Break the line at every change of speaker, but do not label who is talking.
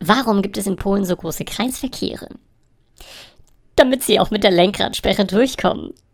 Warum gibt es in Polen so große Kreisverkehre? Damit sie auch mit der Lenkradsperre durchkommen.